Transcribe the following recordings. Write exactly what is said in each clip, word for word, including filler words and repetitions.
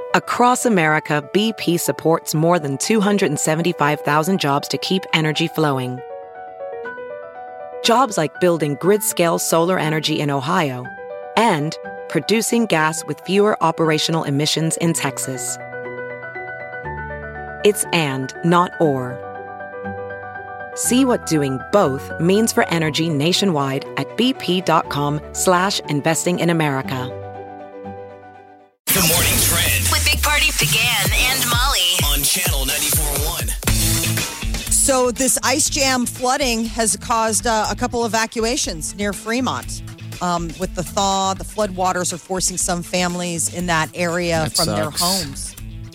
Across America, B P supports more than two hundred seventy-five thousand jobs to keep energy flowing. Jobs like building grid-scale solar energy in Ohio and producing gas with fewer operational emissions in Texas. It's and, not or. See what doing both means for energy nationwide at bp.com slash investing in America. The Morning Trend with Big Party began and Molly on Channel ninety-four point one. So this ice jam flooding has caused uh, a couple evacuations near Fremont. Um, with the thaw, the flood waters are forcing some families in that area That from sucks. their homes.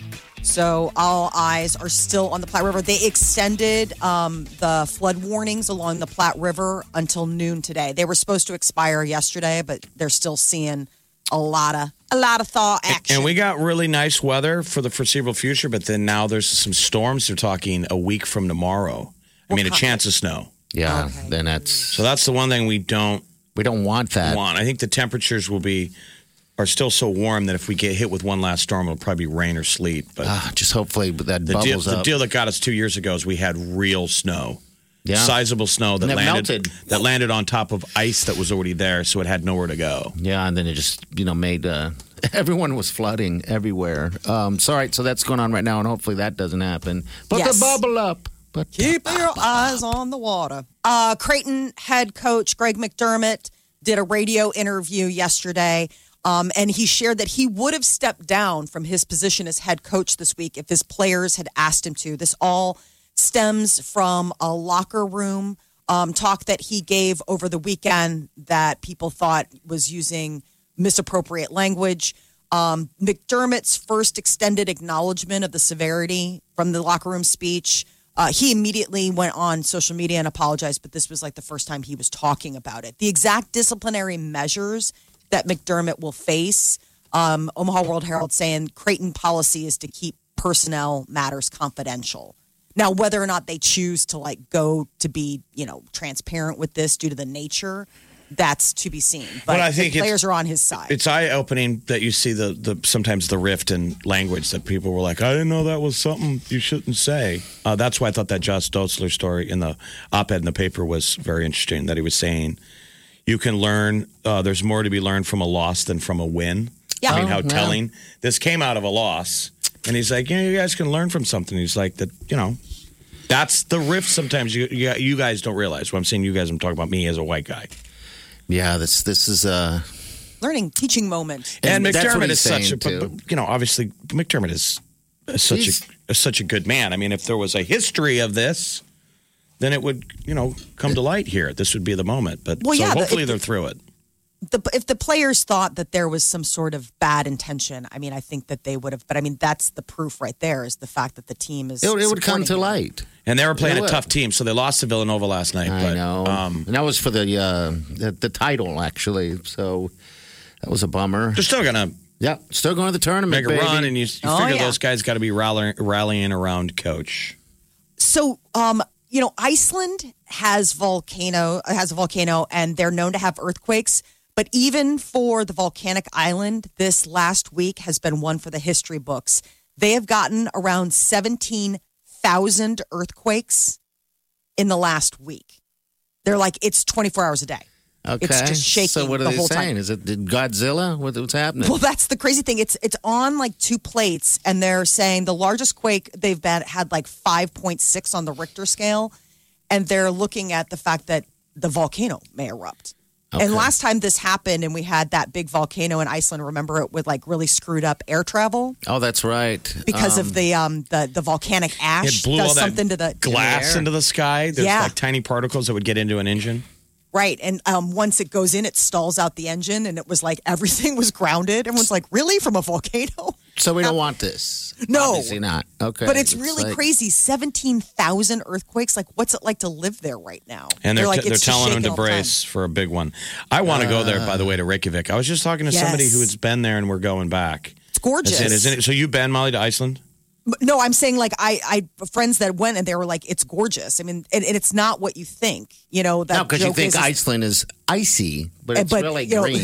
So all eyes are still on the Platte River. They extended um, the flood warnings along the Platte River until noon today. They were supposed to expire yesterday, but they're still seeing a lot of a lot of thaw action. And we got really nice weather for the foreseeable future, but then now there's some storms. They're talking a week from tomorrow. I mean, a chance of snow. Yeah, Okay. then that's So that's the one thing we don't we don't want that. want. I think the temperatures will be are still so warm that if we get hit with one last storm, it'll probably be rain or sleet. But Ah, just hopefully that the deal, bubbles the up. deal that got us two years ago is we had real snow. Yeah. Sizable snow that And it landed melted. that landed on top of ice that was already there, so it had nowhere to go. Yeah, and then it just, you know, made uh, everyone was flooding everywhere. Um, so, all right, so that's going on right now, and hopefully that doesn't happen. Put Yes. the bubble up. But Keep your eyes on the water. Uh, Creighton head coach Greg McDermott did a radio interview yesterday, um, and he shared that he would have stepped down from his position as head coach this week if his players had asked him to. This all stems from a locker room um, talk that he gave over the weekend that people thought was using misappropriate language. Um, McDermott's first extended acknowledgement of the severity from the locker room speech. Uh, he immediately went on social media and apologized, but this was like the first time he was talking about it. The exact disciplinary measures that McDermott will face, um, Omaha World Herald saying Creighton policy is to keep personnel matters confidential. Now, whether or not they choose to like go to be, you know, transparent with this due to the nature, that's to be seen. But Well, I think the it's- players are on his side. It's eye opening that you see the, the sometimes the rift in language that people were like, I didn't know that was something you shouldn't say. Uh, that's why I thought that Josh Dotzler story in the op-ed in the paper was very interesting. That he was saying you can learn. Uh, there's more to be learned from a loss than from a win. Yeah. I mean, Oh, how yeah. telling. This came out of a loss, and he's like, yeah, you guys can learn from something. He's like that, you know. That's the rift. Sometimes you, you you guys don't realize. When I'm saying you guys, I'm talking about me as a white guy. yeah, this this is uh Learning, teaching moment. And, And that's what McDermott he's is such a, saying, but, but, you know, obviously McDermott is, is such He's- a is such a good man. I mean, if there was a history of this, then it would, you know, come to light here. This would be the moment. But Well, so yeah, the- hopefully if they're the- through it. The, if the players thought that there was some sort of bad intention, I mean, I think that they would have. But I mean, that's the proof right there is the fact that the team is. it, it would come supporting to him. light. And they were playing It a would. tough team, so they lost to Villanova last night. I but, know. Um, and that was for the, uh, the the title actually. So that was a bummer. they're still gonna Yeah, still going to the tournament, make a baby. run, and you, you Oh, figure yeah. those guys got to be rallying, rallying around coach. So, um, you know, Iceland has volcano has a volcano, and they're known to have earthquakes. But even for the volcanic island, this last week has been one for the history books. They have gotten around seventeen thousand earthquakes in the last week. They're like, it's twenty-four hours a day. Okay. It's just shaking So what are the they whole saying? time. Is it did Godzilla? What, what's happening? Well, that's the crazy thing. It's it's on like two plates, and they're saying the largest quake they've been had like five point six on the Richter scale, and they're looking at the fact that the volcano may erupt. Okay. And last time this happened, and we had that big volcano in Iceland. Remember, it with like really screwed up air travel Oh, that's right. because Um, of the um the the volcanic ash It blew does all that something to the glass air. into the sky. There's Yeah. like tiny particles that would get into an engine. Right. And um, once it goes in, it stalls out the engine. And it was like everything was grounded. Everyone's like, really? From a volcano? So we don't want this. No. Obviously not. Okay. But it's really like- crazy. seventeen thousand earthquakes. Like, what's it like to live there right now? And they're, like, they're it's just telling them shaking to all the time. brace for a big one. I want to go there, by the way, to Reykjavik. I was just talking to somebody Yes. who has been there, and we're going back. It's gorgeous. Is it, isn't it? So you've been, Molly, to Iceland? But no, I'm saying like I, I friends that went and they were like, it's gorgeous. I mean, and, and it's not what you think. You know, that No, because you joke think is, is- Iceland is icy, but it's but, really you know, green. The,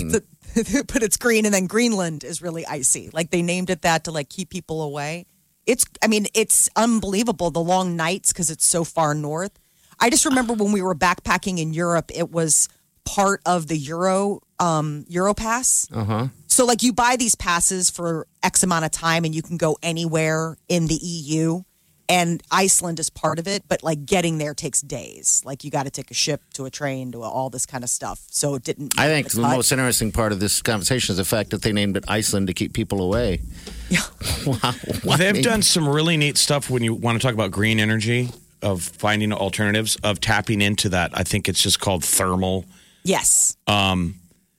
but it's green, and then Greenland is really icy. Like they named it that to like keep people away. It's, I mean, it's unbelievable the long nights because it's so far north. I just remember when we were backpacking in Europe, it was part of the Euro um, Euro Pass. Uh huh. So like you buy these passes for X amount of time, and you can go anywhere in the E U. And Iceland is part of it, but like getting there takes days. Like you got to take a ship to a train to all this kind of stuff. So it didn't. I think the most interesting part of this conversation is the fact that they named it Iceland to keep people away. Yeah. Wow. Well, they've I mean, done some really neat stuff when you want to talk about green energy, of finding alternatives, of tapping into that. I think it's just called thermal. Yes. Um,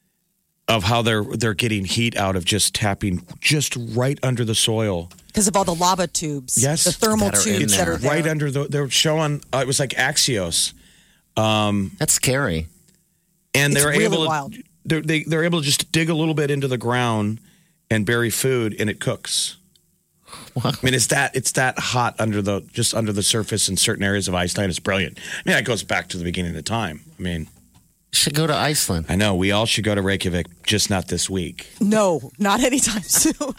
of how they're they're getting heat out of just tapping just right under the soil. Because of all the lava tubes. Yes. The thermal That are in tubes that there. are there. Right under the, they're showing, uh, it was like Axios. Um, That's scary. and It's they're really able to, wild. They're, they, they're able to just dig a little bit into the ground and bury food, and it cooks. Wow. I mean, it's that it's that hot under the just under the surface in certain areas of Iceland. It's brilliant. I mean, that goes back to the beginning of time. I mean, You should go to Iceland. I know we all should go to Reykjavik, just not this week. No, not anytime soon.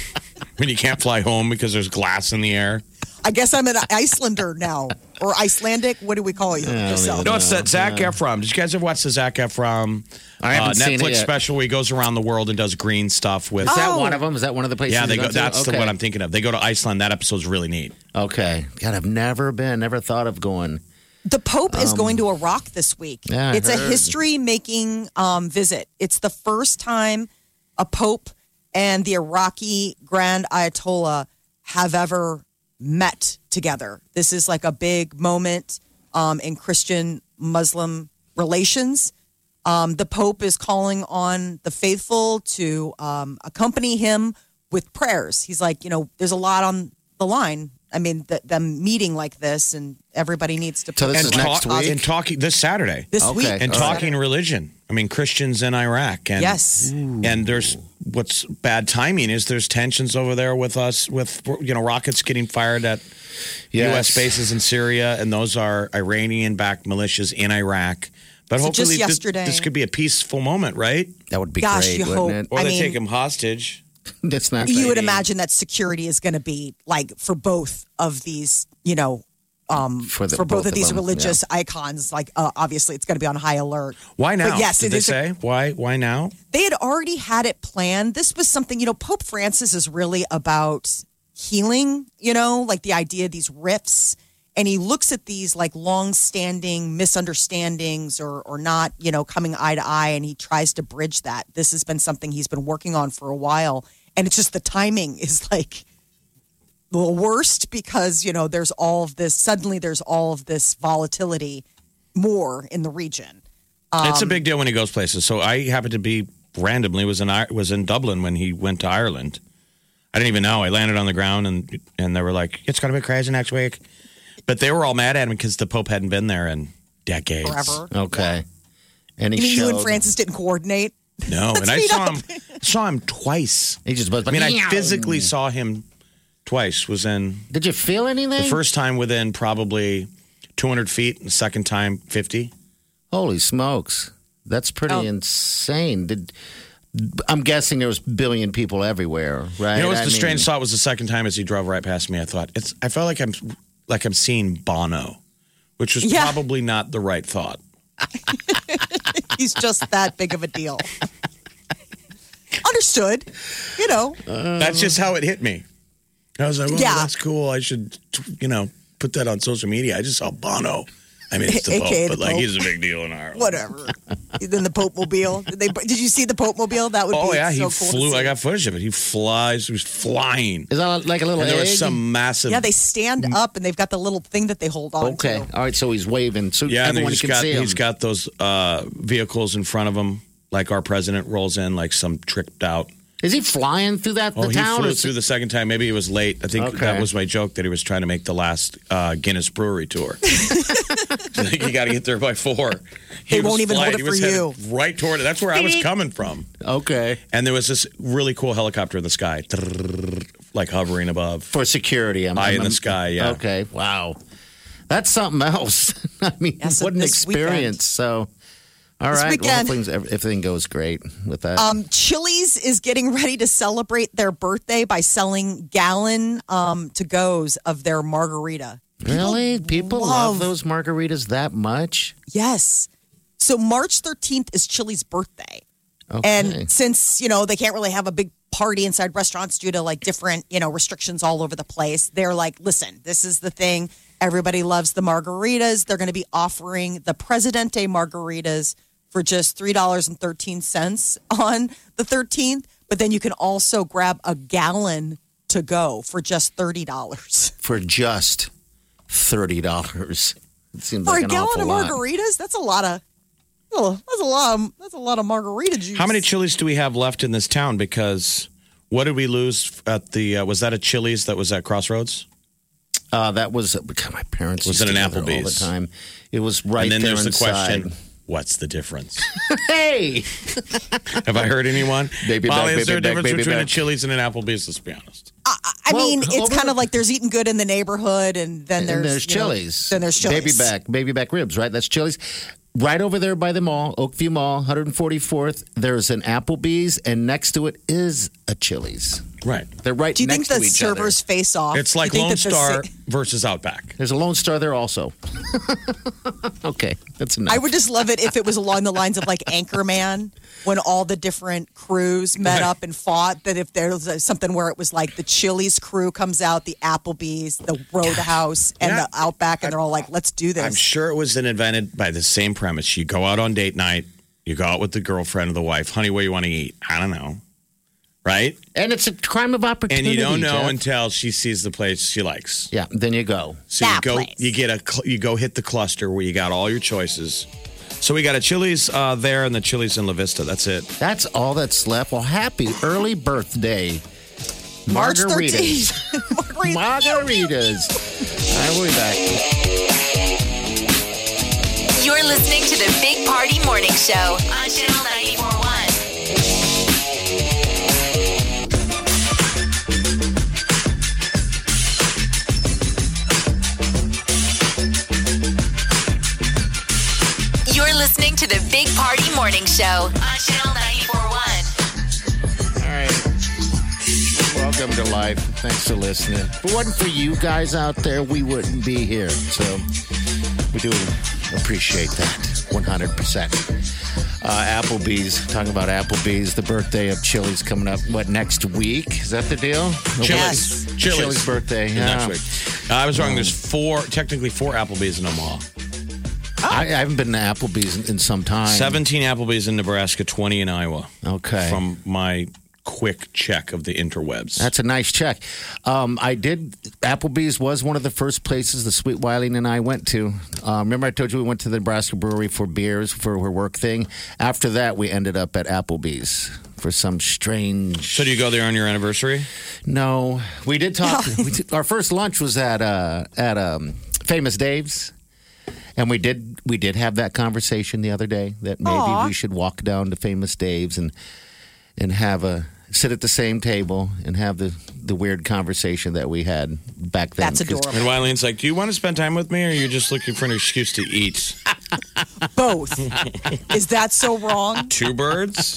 I mean, you can't fly home because there's glass in the air. I guess I'm an Icelander now. Or Icelandic. What do we call you? Yourself? No, it's that Zac Efron. Did you guys ever watch the Zac Efron I haven't uh, seen it Netflix yet. special where he goes around the world and does green stuff with? Is that Oh. one of them? Is that one of the places? Yeah, they you go. to? That's the Okay. what I'm thinking of. They go to Iceland. That episode's really neat. Okay. God, I've never been, never thought of going. The Pope is going to Iraq this week. Yeah, I it's a heard. history-making um, visit. It's the first time a Pope and the Iraqi Grand Ayatollah have ever met together. This is like a big moment um, in Christian-Muslim relations. Um, the Pope is calling on the faithful to um, accompany him with prayers. He's like, you know, there's a lot on the line. I mean, th- them meeting like this, and everybody needs to. So this and is next talk- week? and talking this Saturday. this Okay. week and All talking religion. I mean, Christians in Iraq. And, Yes. And there's what's bad timing is there's tensions over there with us, with, you know, rockets getting fired at U S Yes. bases in Syria, and those are Iranian-backed militias in Iraq. But So hopefully, just this, yesterday- this could be a peaceful moment, right? That would be Gosh, great, you wouldn't hope. it? Or I they mean- take him hostage. That's not. You would great. imagine that security is going to be like for both of these, you know, um, For for, the- both, both of of these them, religious icons. Like, uh, obviously, it's going to be on high alert. Why now? But yes, Did it they is a- say why? Why now? They had already had it planned. This was something, you know, Pope Francis is really about healing, you know, like the idea of these rifts. And he looks at these like long-standing misunderstandings or or not, you know, coming eye to eye, and he tries to bridge that. This has been something he's been working on for a while, and it's just the timing is like the worst because, you know, there's all of this. Suddenly, there's all of this volatility more in the region. it's Um, a big deal when he goes places. So I happened to be randomly was in I- was in Dublin when he went to Ireland. I didn't even know. I landed on the ground and and they were like, "It's going to be crazy next week," but they were all mad at him because the Pope hadn't been there in decades. Forever. Okay. And he You mean you and showed- Francis didn't coordinate? No, and I meet saw up. him saw him twice. He just buzzed. I mean, I physically saw him twice. Was in Did you feel anything? the first time within probably two hundred feet, and the second time fifty. Holy smokes. That's pretty Oh. insane. Did I'm guessing there was billion people everywhere, right? You know, what's I the mean, strange thought was the second time as he drove right past me. I thought it's. I felt like I'm like I'm seeing Bono, which was Yeah. probably not the right thought. He's just that big of a deal. Understood. You know, That's just how it hit me. I was like, well, Yeah. that's cool. I should, you know, put that on social media. I just saw Bono. I mean, it's the A Pope, K A but the like Pope. he's a big deal in Ireland. whatever. Then the Pope Mobile. Did, they, did you see the Pope Mobile? That would Oh be yeah, so he cool to flew. see. I got footage of it. He flies. He was flying. Is that like a little And there egg? was some massive. Yeah, they stand up and they've got the little thing that they hold on Okay. to. All right. So he's waving. So Yeah, and everyone he's can got see him. he's got those uh, vehicles in front of him, like our president rolls in, like some tricked out. Is he flying through that Oh, the he town? flew or is- through the second time. Maybe he was late. I think Okay. that was my joke that he was trying to make the last uh, Guinness Brewery tour. So I think you got to get there by four. He They was won't even hold flying- it he was for headed you. Right toward it. That's where I was coming from. Okay. And there was this really cool helicopter in the sky, like hovering above. For security. I'm, Eye I'm, in the I'm- sky, yeah. Okay. Wow. That's something else. I mean, Yeah, so what an this experience. So, all All This right. weekend- Well, hopefully everything goes great with that. Um, Chili's is getting ready to celebrate their birthday by selling gallon um, to goes of their margarita. really? People love- love those margaritas that much? Yes. So March thirteenth is Chili's birthday. Okay. And since, you know, they can't really have a big party inside restaurants due to like different, you know, restrictions all over the place, they're like, listen, this is the thing. Everybody loves the margaritas. They're going to be offering the Presidente margaritas for just three dollars and thirteen cents on the thirteenth. But then you can also grab a gallon to go for just thirty dollars. For just thirty dollars. It seems For like a an gallon awful of lot. margaritas, that's a lot of. Oh, that's a lot. Of, that's a lot of margarita juice. How many Chili's do we have left in this town? Because what did we lose at the? Uh, was that a Chili's that was at Crossroads? Uh, that was God, my parents Was used it to an go there all the Applebee's? time. It was right and then there there's the inside. question: what's the difference? Hey, Have I heard anyone? Baby Molly, back, is there a baby back, difference baby between a back. Chili's and an Applebee's? Let's be honest. I, I Well, mean, it's over- kind of like there's eating good in the neighborhood, and then there's and there's you know, Chili's. then there's Chili's. Baby back, baby back ribs, right? That's Chili's. Right over there by the mall, Oakview Mall, one hundred forty-fourth. There's an Applebee's, and next to it is a Chili's. Right. They're right Do you think next the to each servers other. face off? It's Do you like think Lone that the Star sa- versus Outback. There's a Lone Star there also. Okay, that's enough. I would just love it if it was along the lines of like Anchorman, when all the different crews met Right. up and fought. That if there's a, something where it was like the Chili's crew comes out, the Applebee's, the Roadhouse, and Yeah. the Outback, and they're all like, "Let's do this." I'm sure it was invented by the same premise. You go out on date night, you go out with the girlfriend or the wife. Honey, what do you want to eat? I don't know. Right? and it's a crime of opportunity. And you don't know Jeff. until she sees the place she likes. Yeah, then you go. So you That go, place. you get a, cl- you go hit the cluster where you got all your choices. So we got a Chili's uh, there and the Chili's in La Vista. That's it. That's all that's left. Well, happy early birthday, March margaritas. thirteenth. Margaritas. All right, we'll be back. You're listening to the Big Party Morning Show on Channel ninety-four point one. You're listening to the Big Party Morning Show on Channel ninety-four point one. All right. Welcome to life. Thanks for listening. If it wasn't for you guys out there, we wouldn't be here. So we do appreciate that one hundred percent. Uh, Applebee's, talking about Applebee's, the birthday of Chili's coming up, what, next week? Is that the deal? Chili's. Chili's, Chili's. birthday. Next Yeah. week. Uh, I was wrong. There's four, technically four Applebee's in Omaha. I, I haven't been to Applebee's in, in some time. seventeen Applebee's in Nebraska, twenty in Iowa. Okay. From my quick check of the interwebs. That's a nice check. Um, I did. Applebee's was one of the first places the Sweet Wileen and I went to. Um, remember, I told you we went to the Nebraska Brewery for beers for her work thing. After that, we ended up at Applebee's for some strange. So do you go there on your anniversary? No, we did talk. we did, our first lunch was at uh, at um, Famous Dave's. And we did we did have that conversation the other day that maybe Aw. we should walk down to Famous Dave's and and have a sit at the same table and have the the weird conversation that we had back then. That's 'Cause adorable. And Wileen's like, do you want to spend time with me or are you just looking for an excuse to eat? Both. Is that so wrong? Two birds?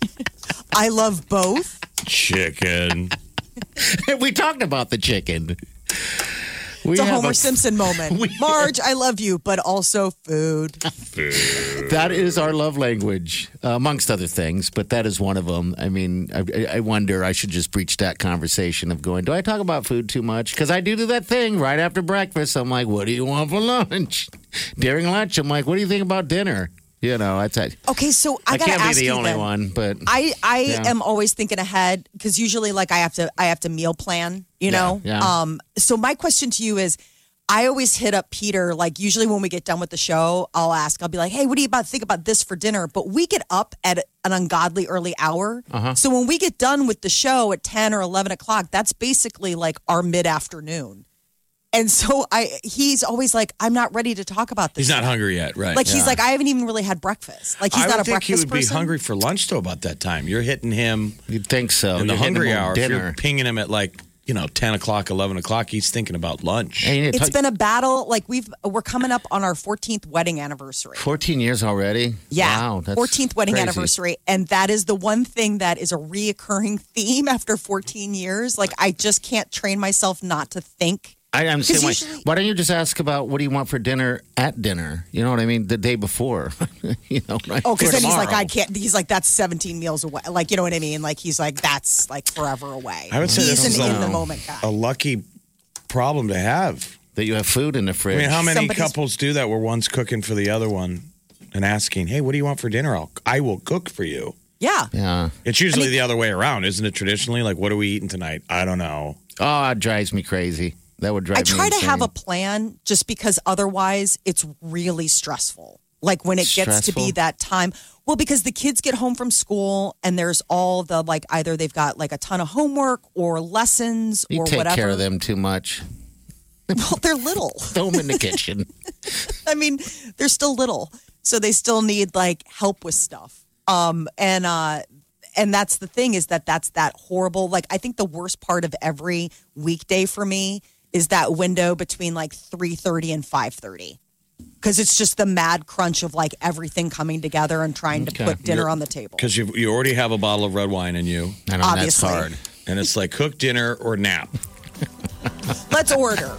I love both. Chicken. we talked about the chicken. We It's a have Homer Simpson moment. we- Marge, I love you, but also food. That is our love language, uh, amongst other things, but that is one of them. I mean, I, I wonder, I should just breach that conversation of going, do I talk about food too much? Because I do do that thing right after breakfast. I'm like, what do you want for lunch? During lunch, I'm like, what do you think about dinner? You know, I tell Okay, so I, I gotta can't be ask the you only then. one, but I I Yeah. am always thinking ahead because usually like I have to I have to meal plan, you Yeah, know. yeah. Um. So my question to you is, I always hit up Peter. Like usually when we get done with the show, I'll ask. I'll be like, "Hey, what do you about think about this for dinner?" But we get up at an ungodly early hour. Uh-huh. So when we get done with the show at ten or eleven o'clock, that's basically like our mid afternoon. And so I, he's always like, "I'm not ready to talk about this." He's not yet." hungry yet, right? Like he's Yeah. like, I haven't even really had breakfast. Like he's I not would a think breakfast he would person. be hungry for lunch, though, about that time. You're hitting him you'd think so. in the You're hitting hungry him on hour. If dinner. you're pinging him at like you know, ten o'clock, eleven o'clock, he's thinking about lunch. Hey, It's talk- been a battle. Like we've we're coming up on our fourteenth wedding anniversary. fourteen years already? Yeah, Wow, that's fourteenth wedding crazy. anniversary, and that is the one thing that is a reoccurring theme after fourteen years. Like I just can't train myself not to think. I understand why. usually- Why don't you just ask about what do you want for dinner at dinner? You know what I mean? The day before. you know, right? Oh, because Or then he's like, tomorrow. I can't. He's like, that's seventeen meals away. Like, you know what I mean? Like, he's like, that's like forever away. I would say he's this is an a- in the moment guy. A lucky problem to have. That you have food in the I fridge. mean, how many Somebody's- couples do that where one's cooking for the other one and asking, hey, what do you want for dinner? I'll, I will cook for you. Yeah. Yeah. It's usually the other way around, isn't it? Traditionally, like, what are we eating tonight? I don't know. Oh, it drives me crazy. That would drive I me try to insane. have a plan just because otherwise it's really stressful. Like when it gets to Stressful? be that time. Well, because the kids get home from school and there's all the like either they've got like a ton of homework or lessons You or take whatever. care of them too much. Well, they're little. Throw them in the kitchen. I mean, they're still little, so they still need like help with stuff. Um, and uh, and that's the thing is that that's that horrible. Like, I think the worst part of every weekday for me is that window between like three thirty and five thirty, because it's just the mad crunch of like everything coming together and trying to Okay. put dinner on the table. Because you you already have a bottle of red wine in you, I know, Obviously. that's hard. and it's like cook dinner or nap. Let's order.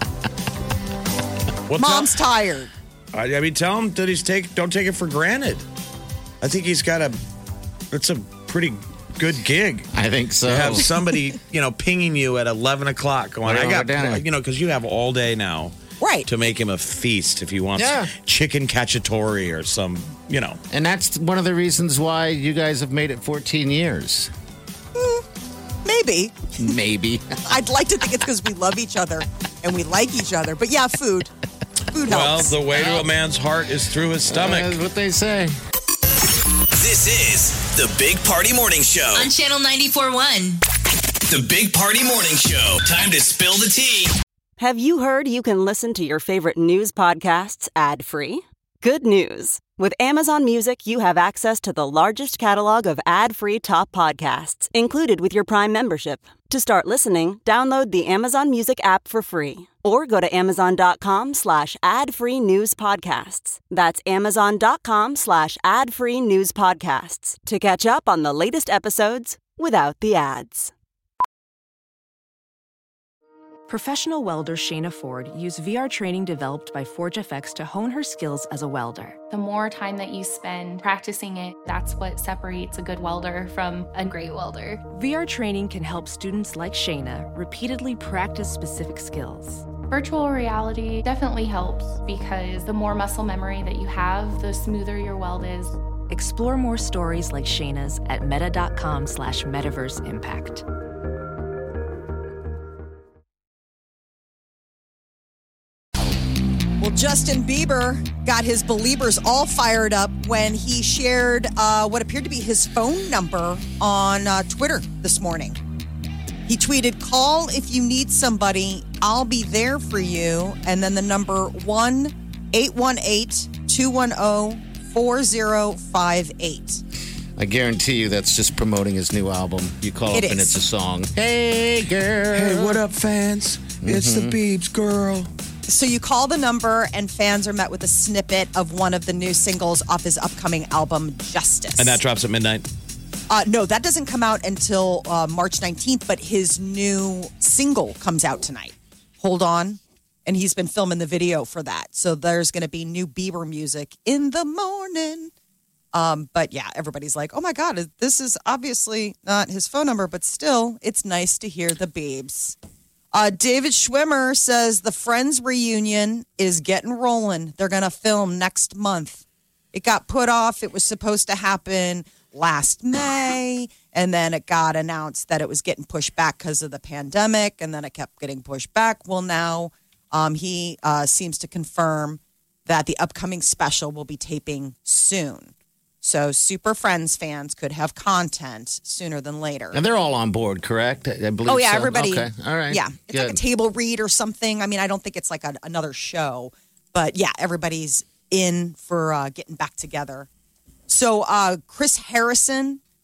Well, Mom's tired. tell, I, I mean, tell him that he's take don't take it for granted. I think he's got a. It's a pretty good gig. I think so. To have somebody, you know, pinging you at eleven o'clock going, Right I over got, dinner. you know, because you have all day now Right. to make him a feast if he wants Yeah. chicken cacciatore or some, you know. And that's one of the reasons why you guys have made it fourteen years. Maybe. Maybe. I'd like to think it's because we love each other and we like each other. But yeah, food. Food Well, helps. the way to a man's heart is through his stomach. That's what they say. This is the Big Party Morning Show. On Channel ninety-four point one. The Big Party Morning Show. Time to spill the tea. Have you heard you can listen to your favorite news podcasts ad-free? Good news. With Amazon Music, you have access to the largest catalog of ad-free top podcasts included with your Prime membership. To start listening, download the Amazon Music app for free or go to amazon.com slash ad-free news podcasts. That's amazon.com slash ad-free news podcasts to catch up on the latest episodes without the ads. Professional welder Shayna Ford used V R training developed by ForgeFX to hone her skills as a welder. The more time that you spend practicing it, that's what separates a good welder from a great welder. V R training can help students like Shayna repeatedly practice specific skills. Virtual reality definitely helps because the more muscle memory that you have, the smoother your weld is. Explore more stories like Shayna's at meta.com slash metaverse impact. Well, Justin Bieber got his believers all fired up when he shared uh, what appeared to be his phone number on uh, Twitter this morning. He tweeted, "Call if you need somebody. I'll be there for you." And then the number one eight one eight, two one zero, four zero five eight. I guarantee you that's just promoting his new album. You call It up and is. it's a song. Hey, girl. Hey, what up, fans? It's the Biebs girl. So you call the number, and fans are met with a snippet of one of the new singles off his upcoming album, Justice. And that drops at midnight. Uh, no, that doesn't come out until uh, March nineteenth, but his new single comes out tonight. Hold on. And he's been filming the video for that. So there's going to be new Bieber music in the morning. Um, but yeah, everybody's like, oh my God, this is obviously not his phone number, but still, it's nice to hear the Biebs. Uh, David Schwimmer says the Friends reunion is getting rolling. They're going to film next month. It got put off. It was supposed to happen last May, and then it got announced that it was getting pushed back because of the pandemic, and then it kept getting pushed back. Well, now um, he uh, seems to confirm that the upcoming special will be taping soon. So Super Friends fans could have content sooner than later. And they're all on board, correct? I I believe Oh, yeah, so. everybody. Okay, all right. Yeah, it's like a Good. table read or something. I mean, I don't think it's like a, another show, but yeah, everybody's in for uh, getting back together. So uh, Chris Harrison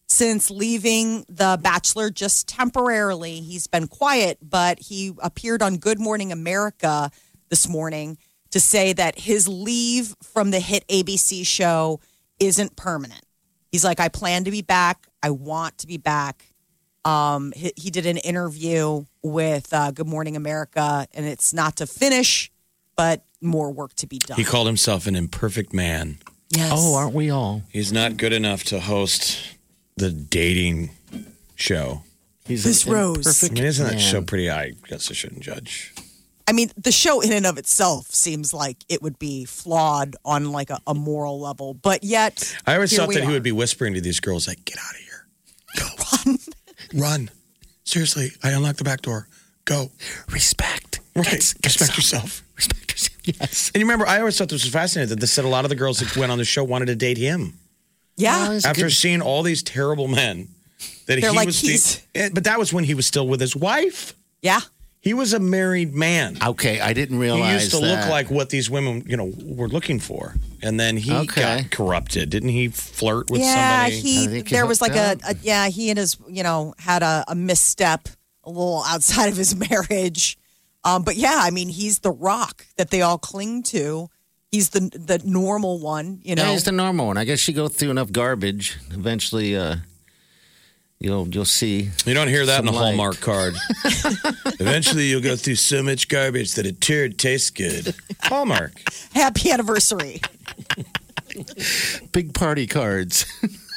since leaving The Bachelor just temporarily. He's been quiet, but he appeared on Good Morning America this morning to say that his leave from the hit A B C show isn't permanent. He's like, I plan to be back. I want to be back. Um, he, he did an interview with uh, Good Morning America, and it's not to finish, but more work to be done. He called himself an imperfect man. Yes. Oh, aren't we all? He's not good enough to host the dating show. He's Miss an Rose. I imperfect mean, isn't that man. show pretty? I guess I shouldn't judge. I mean, the show in and of itself seems like it would be flawed on like a, a moral level, but yet I always here thought we that he are. would be whispering to these girls, like, get out of here. Go. Run. Run. Seriously, I unlocked the back door. Go. Respect. Right. Get- get Respect some. yourself. Respect yourself. Yes. And you remember, I always thought this was fascinating that they said a lot of the girls that went on the show wanted to date him. Yeah. Well, After good. seeing all these terrible men that They're he like, was he's- being, but that was when he was still with his wife. Yeah. He was a married man. Okay, I didn't He realize used to that. look like what these women, you know, were looking for. And then he Okay. got corrupted. Didn't he flirt with Yeah, somebody? he I think he there was like hooked a, a yeah, he and his, you know, had a, a misstep a little outside of his marriage. Um, but yeah, I mean, he's the rock that they all cling to. He's the the normal one, you know. Yeah, he's the normal one. I guess you go through enough garbage, eventually uh, you'll you'll see. You don't hear that in a Some light. Hallmark card. Eventually, you'll go through so much garbage that a turd tastes good. Hallmark. Happy anniversary. Big party cards.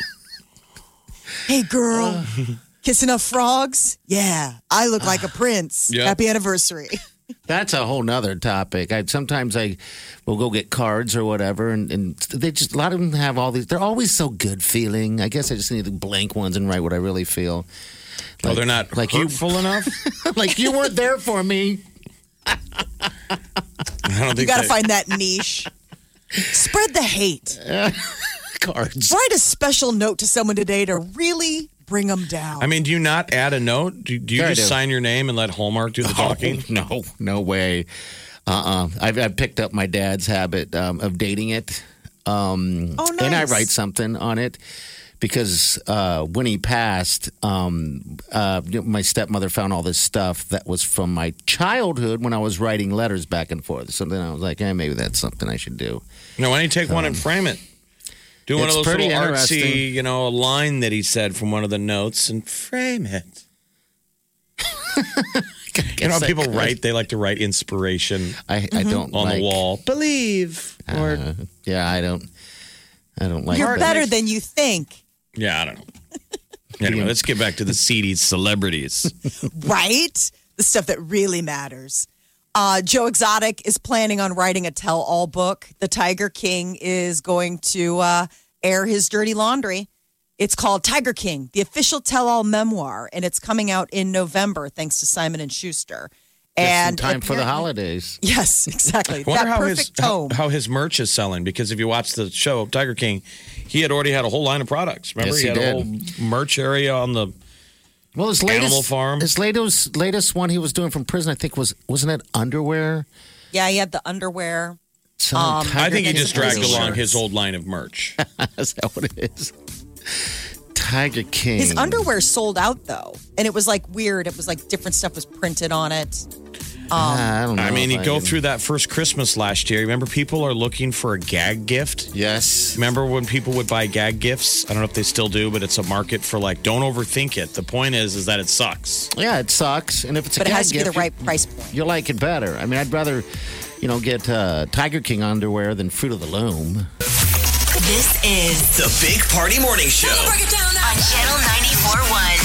Hey girl, kiss enough frogs? Yeah, I look like a prince. Yeah. Happy anniversary. That's a whole nother topic. I sometimes I will go get cards or whatever, and, and they just a lot of them have all these. They're always so good feeling. I guess I just need the blank ones and write what I really feel. Oh, they're not like you- hurtful enough? Like you weren't there for me. I don't think You got to they- find that niche. Spread the hate. Cards. Write a special note to someone today to really bring them down. I mean, do you not add a note? Do, do you Yeah, I just do. sign your name and let Hallmark do the talking? Oh, no, no way. Uh-uh. I've, I've picked up my dad's habit um, of dating it. Um, Oh, And I nice. write something on it because uh, when he passed, um, uh, you know, my stepmother found all this stuff that was from my childhood when I was writing letters back and forth. So then I was like, eh, maybe that's something I should do. No, why don't you take one and frame it? Do one of It's those pretty little interesting. artsy, you know, a line that he said from one of the notes and frame it. You know how I people could. write? They like to write inspiration I, I don't on like, the wall. Believe. Or, Uh, yeah, I don't. I don't like You're that. better than you think, yeah, I don't know. Anyway, let's get back to the seedy celebrities. right? The stuff that really matters. Uh, Joe Exotic is planning on writing a tell-all book. The Tiger King is going to uh, air his dirty laundry. It's called Tiger King, the official tell-all memoir, and it's coming out in November, thanks to Simon and Schuster. Just in And time for the apparently- holidays. Yes, exactly. I wonder that how perfect his how, tone. how his merch is selling, because if you watch the show Tiger King, he had already had a whole line of products. Remember, Yes, he, he had did. a whole merch area on the. Well, his Animal latest Farm. His latest latest one he was doing from prison, I think, was wasn't it underwear? Yeah, he had the underwear. Some Um, Tiger I think he King just dragged shirts. along his old line of merch. Is that what it is? Tiger King. His underwear sold out though, and it was like weird. It was like different stuff was printed on it. I don't know. I mean, if you go can- through that first Christmas last year. Remember, people are looking for a gag gift. Yes. Remember when people would buy gag gifts? I don't know if they still do, but it's a market for like, don't overthink it. The point is, is that it sucks. Yeah, it sucks, and if it's a But it gag has to be the gift, right price point. you, you like it better. I mean, I'd rather, you know, get uh, Tiger King underwear than Fruit of the Loom. This is The Big Party Morning Show. on Channel ninety-four point one.